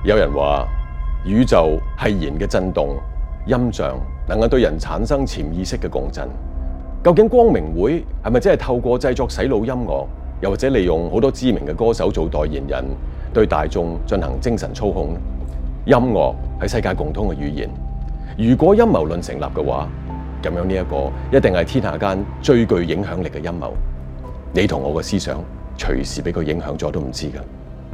有人話宇宙係弦嘅震動，音像能夠對人產生潛意識嘅共振。究竟光明會係咪真係透過製作洗腦音樂，又或者利用好多知名嘅歌手做代言人，對大眾進行精神操控呢？音樂係世界共通嘅語言。如果陰謀論成立嘅話，咁樣呢一個一定係天下間最具影響力嘅陰謀。你同我嘅思想隨時俾佢影響咗都唔知㗎。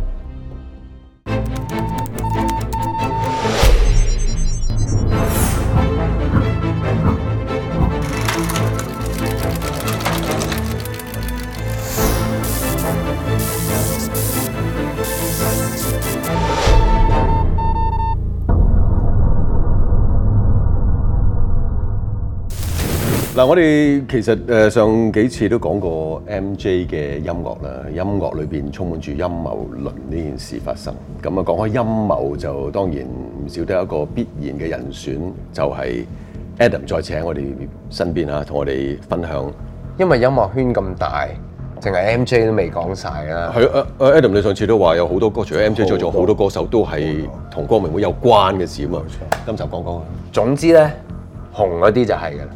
嗱，我哋其實上幾次都講過 MJ 嘅音樂啦，音樂裏邊充滿住陰謀論呢件事發生。咁啊，講開陰謀就當然唔少得一個必然嘅人選，就係 Adam 再次喺我哋身邊啊，同我哋分享。 因為音樂圈咁大，淨係 MJ 都未講晒啦。 係Adam 你上次都話有好多歌，除咗 MJ 再仲好多歌手都係同光明會有關嘅事啊嘛。今集講講啊。 總之咧，紅嗰啲就係㗎啦。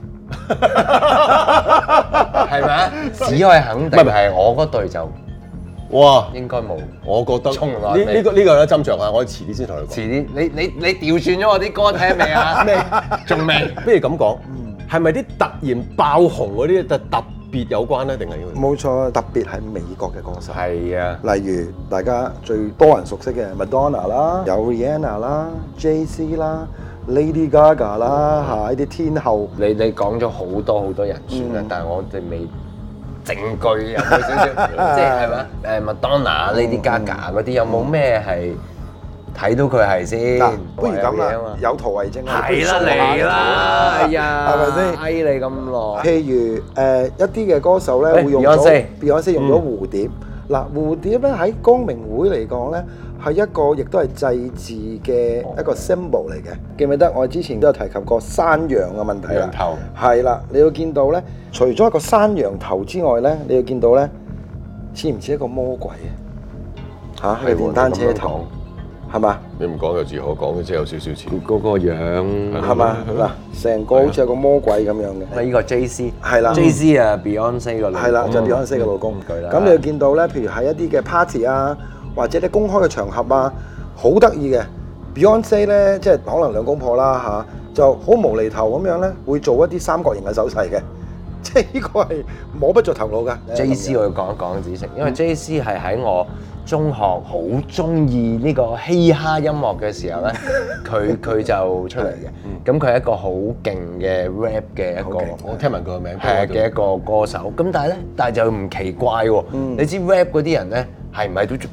係咪啊？只可以肯定係我嗰隊就哇， 應該冇。 我覺得衝落嚟呢個咧斟酌啊，我遲啲先同你講。 遲啲，你調轉咗我啲歌聽未啊？未，仲未。 不如咁講，係咪啲突然爆紅嗰啲特別有關咧？定係冇錯，特別係美國嘅歌手。 係啊， 例如大家最多人熟悉嘅 Madonna 啦，有 Rihanna 啦、Jay-Z 啦。Lady Gaga 啦嚇，呢啲天后， 你講咗好多人選啦，但係我哋未證據有冇少少，即係咪Madonna、Lady Gaga 嗰啲有冇咩係睇到佢係先？ 嗱，不如咁啦，有圖為證啊！ 係啦，嚟啦，係啊，係咪先？翳你咁耐。 譬如一啲嘅歌手咧，會用咗 Beyonce 用咗蝴蝶。嗱，蝴蝶咧喺光明會嚟講咧，係一個亦都係祭祀嘅一個 symbol 嚟嘅。記唔記得我之前都有提及過山羊嘅問題啦？ 羊頭係啦，你要見到咧，除咗一個山羊頭之外咧，你要見到咧，似唔似一個魔鬼啊？嚇，個電單車頭係嘛？ 你唔講有字可講嘅，即係有少少似嗰個樣係嘛？嗱，成個好似有個魔鬼咁樣嘅。 呢個 Jay-Z 係啦 ，Jay-Z 啊 Beyonce 個老公係啦，就係 Beyonce 嘅老公。咁你要見到咧，譬如喺一啲嘅 party 啊，或者啲公開嘅場合啊，好得意嘅 Beyonce 咧，即係可能兩公婆啦嚇，就好無厘頭咁樣咧，會做一啲三角形嘅手勢嘅，即係呢個係摸不着頭腦㗎。 Jay-Z 我要講一講子誠，因為 Jay-Z 係喺我中學好中意呢個嘻哈音樂嘅時候咧，佢就出嚟嘅。咁佢係一個好勁嘅 rap 嘅一個， 我聽聞佢個名係嘅一個歌手。咁但係就唔奇怪喎。你知 rap 嗰啲人咧係唔係都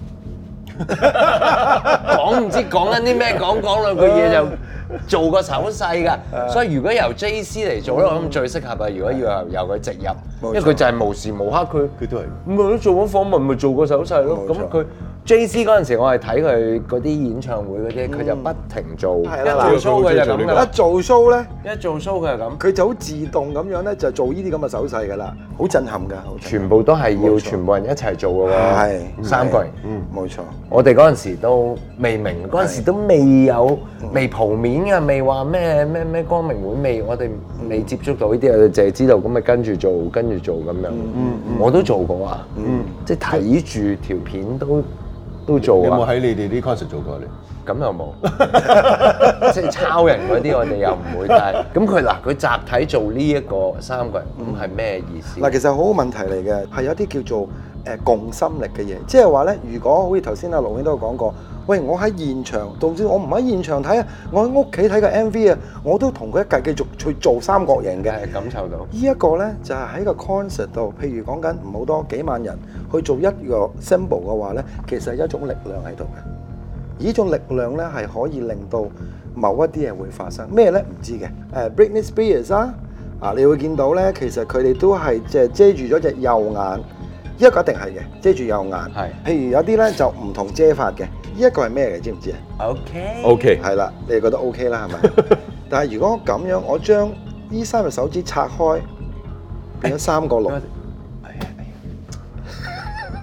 講唔知講緊啲咩，講兩句嘢就做個手勢㗎。所以如果由 Jay-Z 嚟做咧，我諗最適合啊。如果要由佢直入，因為佢就係無時無刻佢都係咁咪做緊訪問，咪做個手勢咯。咁佢 Jay-Z 嗰陣時，我係睇佢嗰啲演唱會嗰啲，佢就不停做，一做 show 佢就咁㗎。 一做 show 咧， 一做 show 佢係咁， 佢就好自動咁樣咧，就做呢啲咁嘅手勢㗎啦，好震撼㗎。 全部都係要全部人一齊做㗎喎。 係三個人， 冇錯。 我哋嗰陣時都未明，嗰陣時都未蒲面嘅，未話咩光明會未，我哋未接觸到呢啲，我哋淨係知道咁咪跟住做咁樣。我都做過啊，即係睇住條片都做啊。 有冇喺你哋啲 concert 做過你？ 咁又冇，即係抄人嗰啲我哋又唔會。但係咁佢集體做呢一個三個人，咁係咩意思？ 嗱，其實好好問題嚟嘅，係有啲叫做共心力嘅嘢，即係話咧，如果好似頭先阿盧兄都有講過，喂，我喺現場，總之我唔喺現場睇啊，我喺屋企睇個 MV 啊，我都同佢一齊繼續去做三角形嘅， 係感受到。 呢一個咧就係喺個 concert 度，譬如講緊唔好多幾萬人去做一個 symbol 嘅話咧，其實係一種力量喺度嘅。呢種力量咧係可以令到某一啲嘢會發生咩咧？唔知嘅。Britney Spears 啊，你會見到咧，其實佢哋都係即係遮住咗隻右眼，呢一個一定係嘅，遮住右眼。係。譬如有啲咧就唔同遮法嘅，呢一個係咩嚟？知唔知啊 ？OK。 係啦，你哋覺得 OK 啦，係咪？但係如果咁樣，我將呢三隻手指拆開，變咗三個六。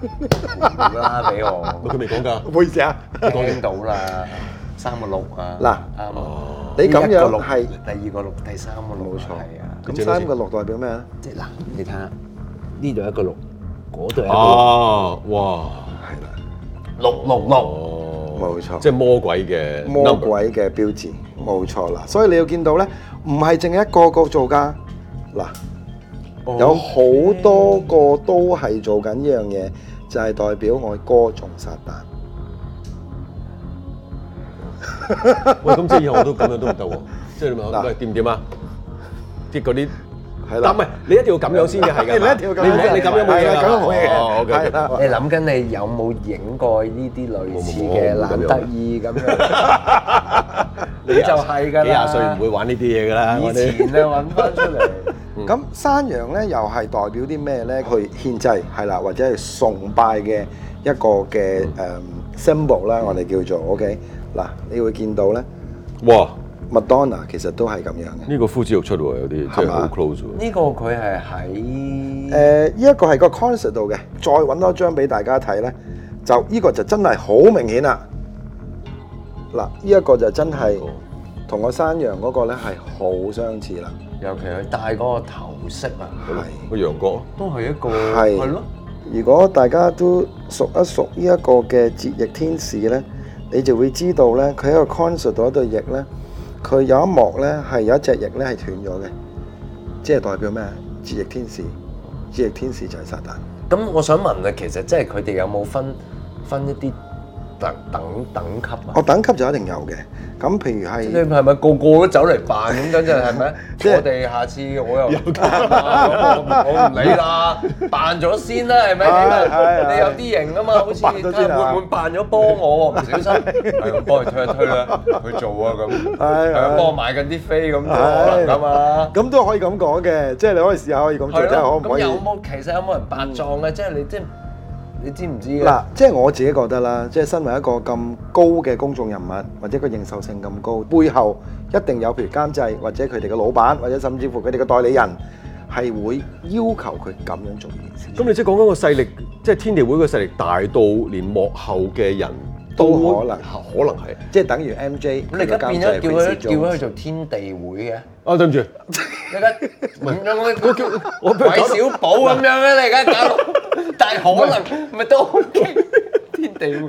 啦俾我， 佢未講㗎。 唔好意思啊。 聽到啦，3個6啊， 嗱啱啊， 你咁樣第一個6 係第二個6，第三個6， 冇錯係啊， 咁3個6代表咩咧？ 即係嗱，你睇下呢度一個6，嗰度一個6， 啊，哇！ 係啦， 666， 哦， 冇錯即係魔鬼嘅魔 number 鬼嘅標誌，冇錯啦。所以你要見到咧，唔係淨係一個個做㗎。嗱，有好多個都係做緊呢樣嘢，就係代表我歌頌撒旦。 喂，咁即係以後我都咁樣都唔得喎。即係你問嗱喂掂唔掂啊？即係嗰啲。 係但唔係你一定要咁樣先嘅，係㗎。 你一定要咁樣你咁樣冇嘢㗎。 係啊咁樣冇嘢嘅哦，OK，OK。 係啦你諗緊你有冇影過呢啲類似嘅懶得意咁樣？你就係㗎啦， 幾廿歲唔會玩呢啲嘢㗎啦。我以哋前咧揾翻出嚟。 咁山羊咧又係代表啲咩咧？去獻祭係啦，或者係崇拜嘅一個嘅symbol 啦，我哋叫做 OK。嗱，你會見到咧， 哇！ 麥當娜其實都係咁樣嘅。 呢個呼之欲出喎，有啲即係好 close 喎。 呢個佢係喺呢一個係個 concert 度嘅，再揾多張俾大家睇咧，就呢個就真係好明顯啦。嗱，呢一個就真係同個山羊嗰個咧係好相似啦。 尤其佢戴嗰個頭飾啊， 係。 個羊角。 都係一個係係咯。 如果大家都熟一熟呢一個嘅折翼天使咧，你就會知道咧，佢喺個 concert 度一對翼咧，佢有一幕咧係有一隻翼咧係斷咗嘅，即係代表咩？折翼天使，折翼天使就係撒旦。 咁我想問啊，其實即係佢哋有冇分一啲等級啊？ 我等級就一定有嘅。咁譬如你係係咪個個都走嚟扮咁樣？係咪？ 即係我哋下次我又我唔理啦，扮咗先啦，係咪？ 係你有啲型啊嘛，好似扮咗先啊會唔會扮咗幫我喎？唔小心係咁幫佢推一推啦，去做啊咁，係啊幫我買緊啲飛咁都可能㗎嘛。 咁都可以咁講嘅，即係你可以試下可以咁做，即係可唔可以？ 咁其實有冇人扮壯嘅？即係你知唔知嘅？ 嗱，即係我自己覺得啦，即係身為一個咁高嘅公眾人物，或者個認受性咁高，背後一定有譬如監製或者佢哋嘅老闆，或者甚至乎佢哋嘅代理人，係會要求佢咁樣做呢件事。 咁你即係講緊個勢力，即係天地會個勢力大到連幕後嘅人都可能係。 即係等於 MJ， 咁你而家變咗叫佢去做天地會嘅？ 啊，對唔住， 你而家咁樣我韋小寶咁樣咧，你而家搞到，但係可能咪都 OK，天地會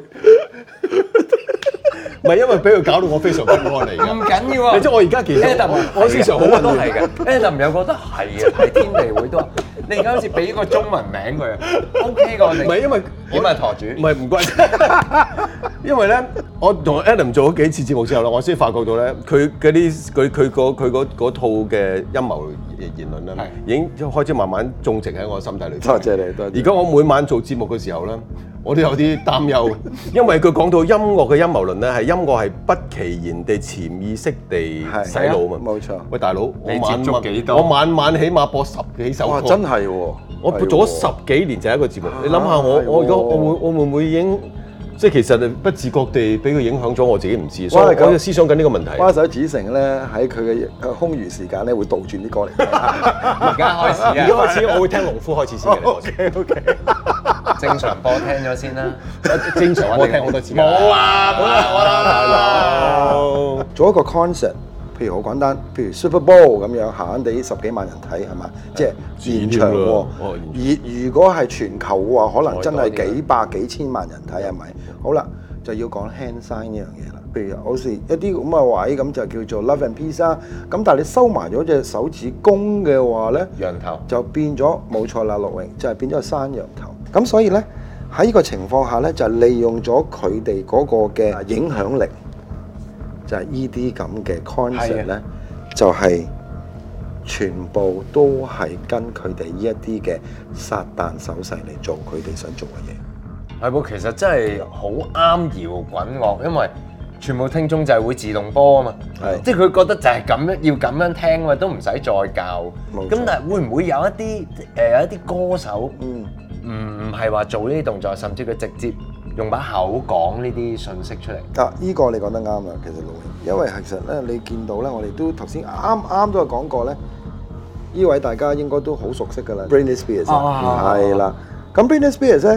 唔係因為俾佢搞到我非常不安嚟㗎。 唔緊要啊！ 你知我而家其實 Adam 我思想好混亂都係嘅，Adam 有覺得係啊，係天地會都話，你而家好似俾個中文名佢啊，OK 㗎我哋。 唔係因為點啊舵主？ 唔係唔關，因為咧，我同 Adam 做咗幾次節目之後咧，我先發覺到咧，佢嗰套嘅陰謀言論咧，已經開始慢慢種植喺我心底裏邊。 多謝你，多謝。 而家我每晚做節目嘅時候咧，我都有啲擔憂，因為佢講到音樂嘅陰謀論咧，係音樂係不其然地潛意識地洗腦嘛。 冇錯。 喂，大佬， 你接觸幾多？ 我晚晚起碼播10幾首歌。 哇！真係喎。 我做咗10幾年就係一個節目，你諗下我而家我會唔會已經即係其實不自覺地俾佢影響咗我自己唔知，所以我喺度思想緊呢個問題。 蛙手子成咧喺佢嘅空餘時間咧會倒轉啲歌嚟聽。 而家開始啊！ 而家開始我會聽農夫開始先嘅。 OK。 正常播聽咗先啦。 正常我聽好多次。 冇啊！冇啦！ 做一個 concert。譬如好簡單，譬如 Super Bowl 咁樣，閒閒地10幾萬人睇係嘛？即係現場喎。而如果係全球嘅話，可能真係幾百幾千萬人睇係咪？好啦，就要講 hand sign 呢樣嘢啦。譬如好似一啲咁嘅位咁就叫做 Love and Peace 啦。咁但係你收埋咗隻手指公嘅話咧， 羊頭就變咗冇錯啦，陸榮就係變咗個山羊頭。咁所以咧喺呢個情況下咧，就利用咗佢哋嗰個嘅影響力。就係呢啲咁嘅 concept 咧，就係全部都係跟佢哋呢一啲嘅撒旦手勢嚟做佢哋想做嘅嘢。 係喎，其實真係好啱搖滾樂，因為全部聽眾就係會自動波啊嘛，即係佢覺得就係咁樣要咁樣聽啊嘛，都唔使再教。咁但係會唔會有一啲歌手唔係話做呢啲動作，甚至佢直接用把口講呢啲信息出嚟？ 啊，依個你講得啱啦，其實陸榮，因為其實咧你見到咧，我哋都頭先啱都有講過咧，呢位大家應該都好熟悉㗎啦 ，Britney Spears 係啦。咁 Britney Spears 咧，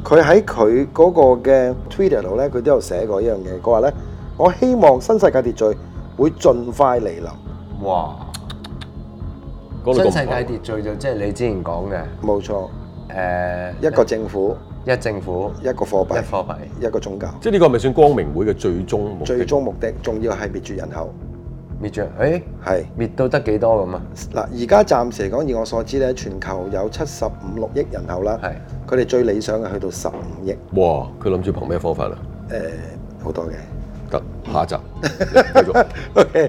佢喺佢嗰個嘅 Twitter 度咧，佢都有寫過一樣嘢。佢話咧，我希望新世界秩序會盡快嚟臨。 哇！ 講到咁新世界秩序就即係你之前講嘅冇錯， 誒一個政府、 一政府一個貨幣、 一貨幣。 一個宗教， 即係呢個係咪算光明會嘅最終目的？ 最終目的仲要係滅絕人口。 滅絕，誒係滅到得幾多咁啊？ 嗱，而家暫時嚟講，以我所知咧，全球有75-6億人口啦。 係佢哋最理想嘅去到15億。 哇！佢諗住憑咩方法啊？ 好多嘅。 得下一集繼續。 OK。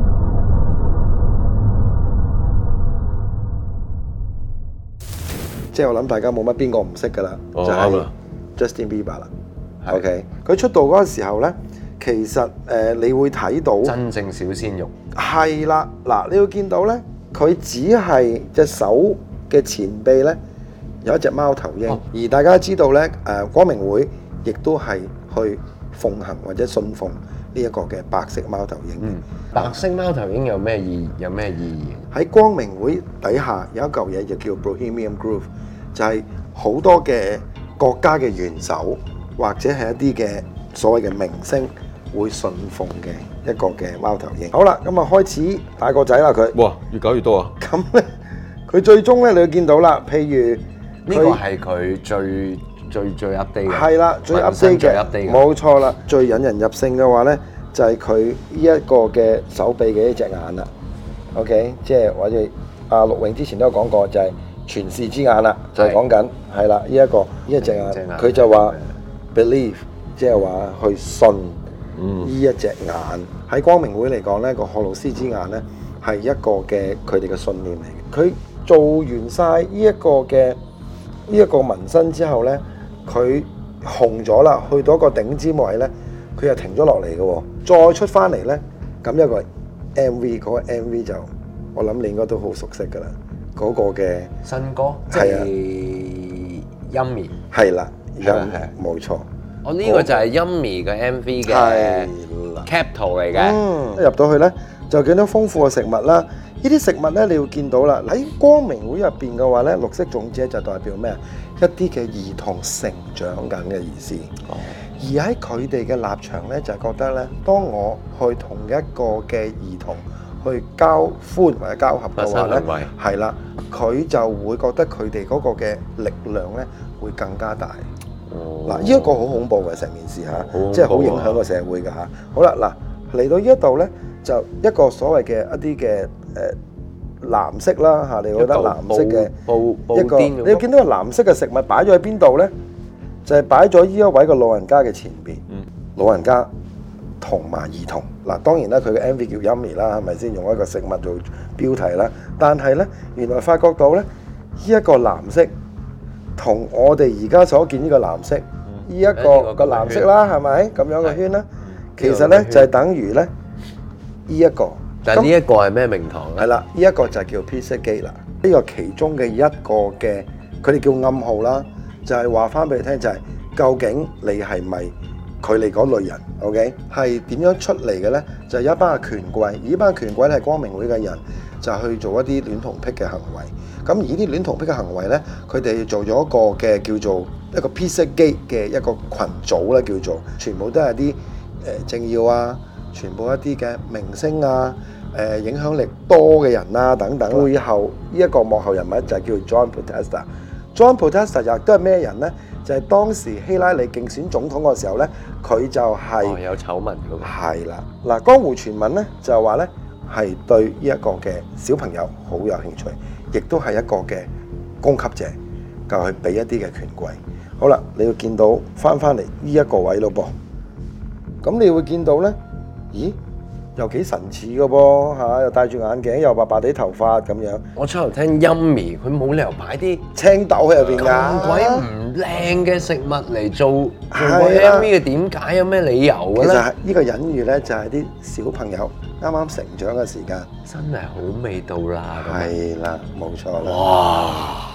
即係我諗大家冇乜邊個唔識㗎啦， 哦就係啱啦 Justin Bieber 啦。 係 OK，佢出道嗰個時候咧，其實你會睇到真正小鮮肉。 係啦，嗱，你會見到咧，佢只係隻手嘅前臂咧有一隻貓頭鷹， 哦而大家知道咧，光明會亦都係去奉行或者信奉呢一個嘅白色貓頭鷹。 嗯，白色貓頭鷹有咩意義？ 喺光明會底下有一嚿嘢就叫 Bohemian Groove，就係好多嘅國家嘅元首或者係一啲嘅所謂嘅明星會信奉嘅一個嘅貓頭鷹。好啦，咁啊開始大個仔啦佢。 哇！越搞越多啊！ 咁咧，佢最終咧你會見到啦，譬如呢個係佢最 update 嘅。 係啦，最渾身 update 最嘅， update 嘅。 冇錯啦。最引人入勝嘅話咧，就係佢呢一個嘅手臂嘅一隻眼啦。OK， 即係或者阿陸永之前都有講過，就係全視之眼啦，就係講緊係啦，呢一隻眼，佢就話 believe， 即係話去信呢一隻眼。喺光明會嚟講咧，個荷魯斯之眼咧係一個嘅佢哋嘅信念嚟嘅。佢做完晒呢一個嘅呢一個紋身之後咧，佢紅咗啦，去到一個頂尖位咧，佢又停咗落嚟嘅喎，再出翻嚟咧，咁一個 MV， 嗰個 MV 就我諗你應該都好熟悉㗎啦，嗰個嘅新歌即係啊係 Yummy。 係啦， 係啊係啊冇錯， 我呢個就係 Yummy 嘅 MV 嘅係啦。 cap 圖嚟嘅。 入到去咧就見到豐富嘅食物啦。呢啲食物咧，你會見到啦。喺光明會入邊嘅話咧，綠色種子就代表咩啊？一啲嘅兒童成長緊嘅意思。而喺佢哋嘅立場咧，就係覺得咧，當我去同一個嘅兒童去交歡或者交合嘅話咧發生行為， 係啦，佢就會覺得佢哋嗰個嘅力量咧會更加大。嗱，呢一個好恐怖嘅成件事嚇， 恐怖啊即係好影響個社會㗎嚇。好啦，嗱嚟到呢一度咧，就一個所謂嘅一啲嘅藍色啦嚇，你覺得藍色嘅布一個， 甸你見到個藍色嘅食物擺咗喺邊度咧？就係擺咗呢一位嘅老人家嘅前邊。老人家同埋兒童嗱，當然啦，佢嘅 MV 叫 Yummy 啦，係咪先用一個食物做標題啦？但係咧，原來發覺到咧，呢一個藍色同我哋而家所見呢個藍色，呢一個個藍色啦，係咪咁樣嘅圈啦？其實咧就係等於咧呢一個。 但係呢一個係咩名堂咧？ 係啦，呢一個就係叫 Pizzagate 啦。呢個其中嘅一個嘅，佢哋叫暗號啦，就係話翻俾你聽，就係究竟你係咪佢哋嗰類人 ？OK， 係點樣出嚟嘅咧？就係有一班嘅權貴，而呢班權貴咧係光明會嘅人，就去做一啲戀童癖嘅行為。咁而呢啲戀童癖嘅行為咧，佢哋做咗一個嘅叫做一個 Pizzagate 嘅一個群組咧，叫做全部都係啲政要啊，全部一啲嘅明星啊。影響力多嘅人啊等等，背後呢一個幕後人物就係叫 John Podesta。John Podesta 又都係咩人呢？就係當時希拉里競選總統嗰時候呢，佢就係有醜聞嗰個。 係啦，嗱，江湖傳聞呢就係話呢係對呢一個嘅小朋友好有興趣，亦都係一個嘅供給者，就去俾一啲嘅權貴。好啦，你要見到翻嚟呢一個位咯噃，咁你會見到呢？咦？又幾神似嘅噃嚇，又戴住眼鏡，又白白地頭髮咁樣。 我出頭聽 Yummy，佢冇理由擺啲青豆喺入邊㗎。 咁鬼唔靚嘅食物嚟做個係啦 MV 嘅，點解有咩理由嘅咧？ 其實係呢個隱喻咧，就係啲小朋友啱啱成長嘅時間。 真係好味道啦！咁樣係啦，冇錯啦。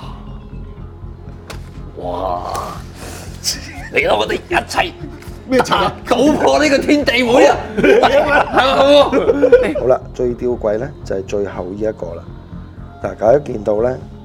哇！嚟啦，我哋一齊咩查搗破呢個天地會啊！係嘛？ 好啦，最吊詭咧就係最後呢一個啦。嗱，大家見到咧，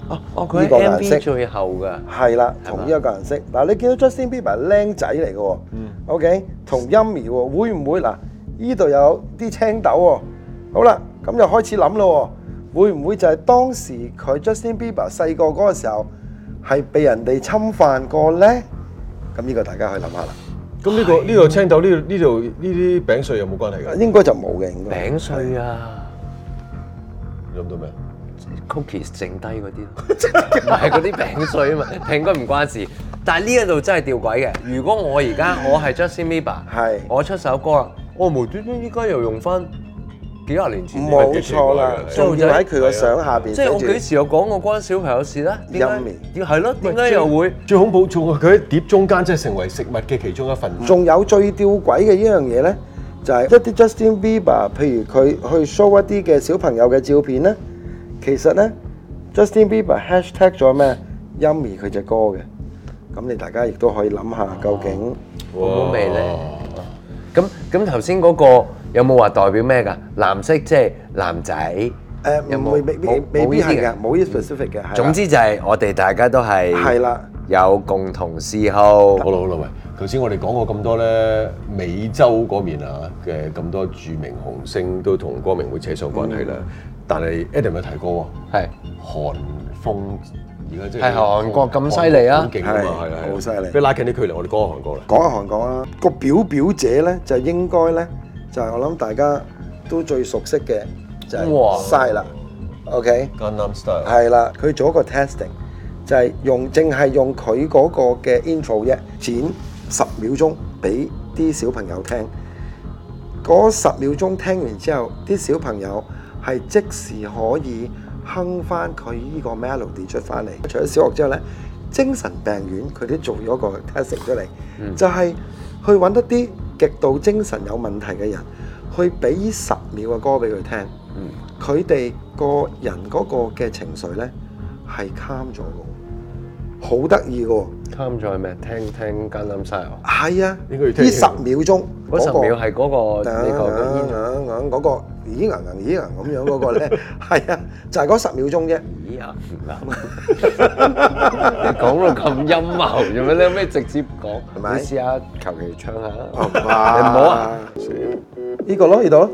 佢呢個顏 MV 色最後㗎。 係啦，同呢一個顏色。嗱，你見到 Justin Bieber 係僆仔嚟嘅喎，OK，同 Yummy 喎，會唔會嗱？呢度有啲青豆喎。好啦，咁就開始諗咯喎，會唔會就係當時佢 Justin Bieber 細個嗰個時候係被人哋侵犯過咧？咁呢個大家可以諗下啦。 咁呢個青豆呢度呢啲餅碎有冇關係㗎？ 應該就冇嘅，應該。 餅碎啊諗到咩？ ，cookies 剩低嗰啲咯，唔係嗰啲餅碎啊嘛，應該唔關事。但係呢一度真係吊詭嘅。如果我而家我係 Justin Bieber， 係我出首歌啦，我無端端依家又用翻幾廿年前冇錯啦，仲要喺佢個相下邊即係我幾寫時有講過關小朋友事咧？點解 Yummy 係咯？點解又會？ 最恐怖仲係佢喺碟中間，即係成為食物嘅其中一份子。 住。仲有最吊詭嘅一樣嘢咧，就係一啲 Justin Bieber，譬如佢去 show 一啲嘅小朋友嘅照片咧，其實咧 Justin Bieber hashtag 咗咩 Yummy 佢隻歌嘅。咁你大家亦都可以諗下究竟好唔好味咧？咁頭先嗰個有冇話代表咩㗎？藍色即係男仔，有冇未必係嘅，冇呢 specific 嘅。係啦總之就係我哋大家都係係啦， 有共同嗜好。 好啦，喂，頭先我哋講過咁多咧，美洲嗰面啊嘅咁多著名紅星都同光明會扯上關係啦。但係 Adam 有提過喎， 係韓風而家即係韓國咁犀利啊好勁啊嘛，係啦， 好犀利俾拉近啲距離，我哋講下韓國啦。 講下韓國啦，個表姐咧就應該咧就係我諗大家都最熟悉嘅就哇係 Psy 啦，OK。 Gangnam Style 係啦，佢做一個 testing，就係淨係用佢嗰個嘅 intro 啫，剪10秒鐘俾啲小朋友聽。嗰10秒鐘聽完之後，啲小朋友係即時可以哼翻佢呢個 melody 出翻嚟。除咗小學之後呢，精神病院佢都做咗個 testing 出嚟，就係去揾一啲極度精神有問題嘅人，去俾10秒嘅歌俾佢聽。佢哋個人嗰個嘅情緒咧係 calm 咗嘅，好得意嘅喎。 啱咗係咩？聽 Gangnam Style。 係啊， 應該要聽呢10秒鐘嗰10秒係嗰個呢個嗰個咦咁樣嗰個咧，係啊，就係嗰10秒鐘啫。 咦啊唔啱！你講到咁陰謀，做咩？你可唔可以直接講？ 係咪你試下求其唱下啦。 你唔好啊！ 呢個咯，呢度咯。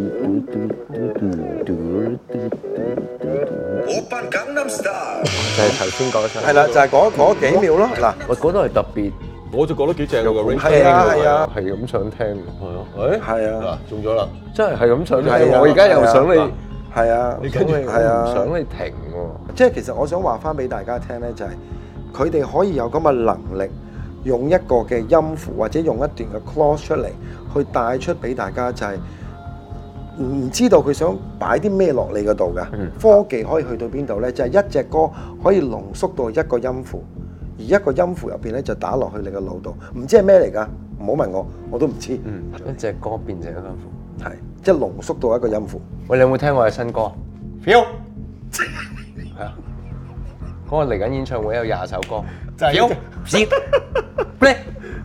就係頭先講嘅係啦，就係嗰幾秒咯。嗱， 喂，嗰度係特別， 我就覺得幾正喎個 range。 係啊係啊， 係咁想聽。 係啊，誒係啊， 嗱中咗啦。 真係咁想聽。 係啊我而家又想你， 係啊， 你跟住係啊， 想你停喎。 即係其實我想話翻俾大家聽咧，就係佢哋可以有咁嘅能力，用一個嘅音符或者用一段嘅 clause 出嚟，去帶出俾大家，就係唔知道佢想擺啲咩落你嗰度㗎。科技可以去到邊度咧？就係一隻歌可以濃縮到一個音符，而一個音符入邊咧就打落去你個腦度，唔知係咩嚟㗎？唔好問我，我都唔知。 一隻歌變成一間符。 係即係濃縮到一個音符。 喂，你有冇聽我嘅新歌？Feel 係啊，嗰個嚟緊演唱會有20首歌， 就係 Feel Play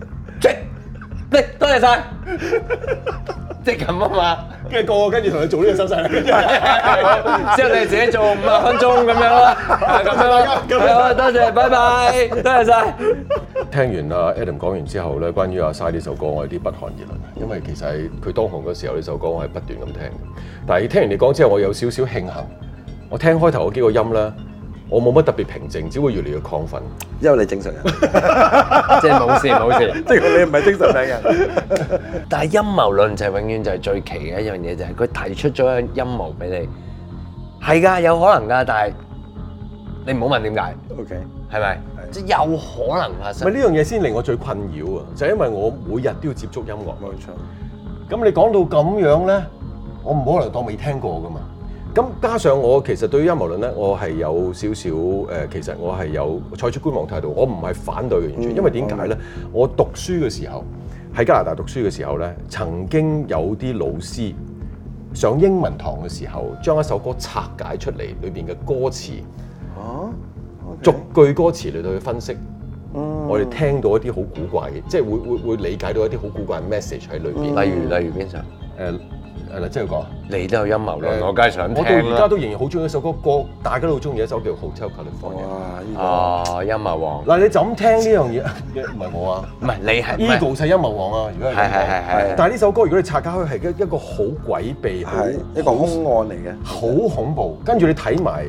Play，多謝晒，即係咁啊嘛。 跟住個跟住同你做呢個手勢啦，跟住之後你自己做50分鐘咁樣啦，咁樣啦，係啊，多謝，拜拜，多謝晒。 聽完阿 Adam 講完之後咧，關於阿 Psy 呢首歌，我有啲不寒而慄，因為其實係佢當紅嗰時候呢首歌，我係不斷咁聽嘅。但係聽完你講之後，我有少少慶幸，我聽開頭嗰幾個音咧，我冇乜特別平靜，只會越嚟越亢奮。 因為你正常人， 即係冇事冇事。 即係你唔係精神病人。 但係陰謀論就係永遠就係最奇嘅一樣嘢，就係佢提出咗一個陰謀俾你，係㗎，有可能㗎，但係你唔好問點解 OK， 係咪？即係有可能發生。 咪呢樣嘢先令我最困擾啊！就係因為我每日都要接觸音樂。 冇錯。 咁你講到咁樣咧，我唔可能當未聽過噶嘛。咁加上我其實對於陰謀論咧，我係有少少其實我係有採取觀望態度，我唔係反對嘅完全。因為點解咧？我讀書嘅時候喺加拿大讀書嘅時候咧，曾經有啲老師上英文堂嘅時候，將一首歌拆解出嚟，裏邊嘅歌詞，逐句歌詞嚟到去分析。我哋聽到一啲好古怪嘅，即係會理解到一啲好古怪嘅 message 喺裏邊。 例如邊首？ 係啦，即係講。 你都有陰謀論，我梗係想我到聽啦。 而家都仍然好中意一首歌，大家都好中意一首叫《Hotel California》。 哇！呢哦，陰謀王， 嗱，你就咁聽呢樣嘢，唔係我啊唔係你係 ，Eagles 係陰謀王啊！如果係咁講係但係呢首歌如果你拆解開係一個好詭秘、 個係一個兇案嚟嘅， 好恐怖。跟住你睇埋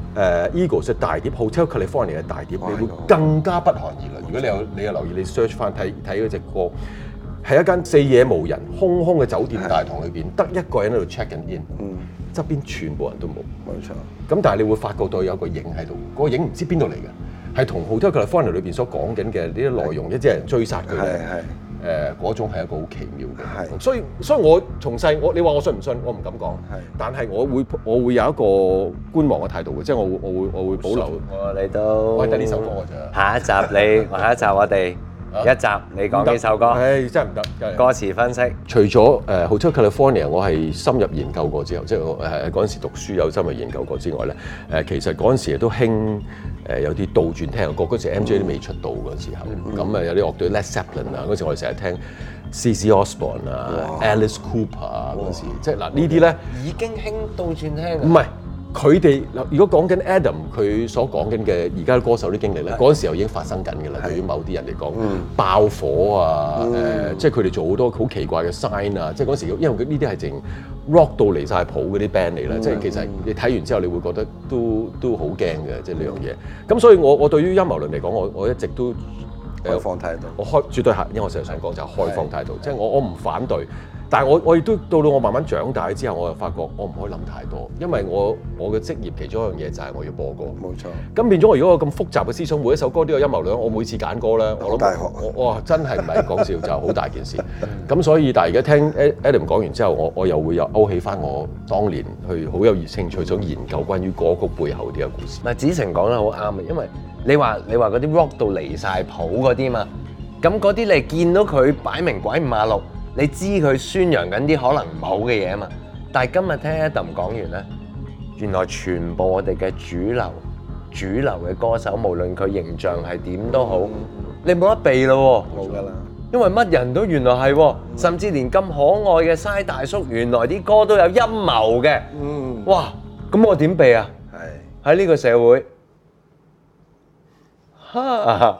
Eagles 嘅大碟《Hotel California》嘅大碟， 哇你會更加不寒而栗。如果你有留意，你 search 翻睇嗰隻歌，係一間四野無人、空空嘅酒店大堂裏邊，得一個人喺度 check 緊 in，側邊全部人都冇。 冇錯。 咁但係你會發覺到有個影喺度，嗰個影唔知邊度嚟嘅，係同《Hotel California》裏邊所講緊嘅呢啲內容，一啲人追殺佢咧，嗰種係一個好奇妙嘅。 係所以我從細你話我信唔信，我唔敢講。但係我會有一個觀望嘅態度嘅，即係我會保留。 你都我係得呢首歌㗎咋。 下一集我哋一集你講呢首歌， 唉，真係唔得。 歌詞分析。 除咗Hotel California，我係深入研究過之後，即係我嗰陣時讀書有深入研究過之外咧，其實嗰陣時都興有啲倒轉聽嘅歌，嗰時 MJ 都未出道嗰時候，咁有啲樂隊 Led Zeppelin 啊，嗰時我哋成日聽 CC Osborne 啊、Alice Cooper 啊嗰時，即係嗱呢啲咧已經興倒轉聽唔係。佢哋如果講緊 Adam 佢所講緊嘅而家歌手啲經歷咧，嗰陣時候已經發生緊㗎啦。對於某啲人嚟講，爆火啊，即係佢哋做好多好奇怪嘅 sign 啊，即係嗰時因為呢啲係淨 rock 到離晒譜嗰啲 band 嚟啦，即係其實你睇完之後你會覺得都好驚嘅，即係呢樣嘢。咁所以我對於陰謀論嚟講，我一直都開放態度， 我絕對係，因為我成日想講就係開放態度，即係我唔反對。但係我亦都到我慢慢長大之後，我就發覺我唔可以諗太多，因為我嘅職業其中一樣嘢就係我要播歌。 冇錯。 咁變咗我如果有咁複雜嘅思想，每一首歌都有陰謀論，我每次揀歌咧，我大學哇真係唔係講笑，就好大件事。咁所以但係而家聽 Adam 講完之後，我又會勾起翻我當年去好有興趣想研究關於歌曲背後啲嘅故事。 嗱，子成講得好啱嘅，因為你話嗰啲 rock 到離晒譜嗰啲嘛，咁嗰啲你見到佢擺明鬼五馬六。你知佢宣揚緊啲可能唔好嘅嘢啊嘛，但係今日聽 Adam 講完咧，原來全部我哋嘅主流嘅歌手，無論佢形象係點都好，你冇得避咯喎， 冇㗎啦， 因為乜人都原來係喎，甚至連咁可愛嘅嘥大叔，原來啲歌都有陰謀嘅，哇，咁我點避啊？係喺呢個社會，哈。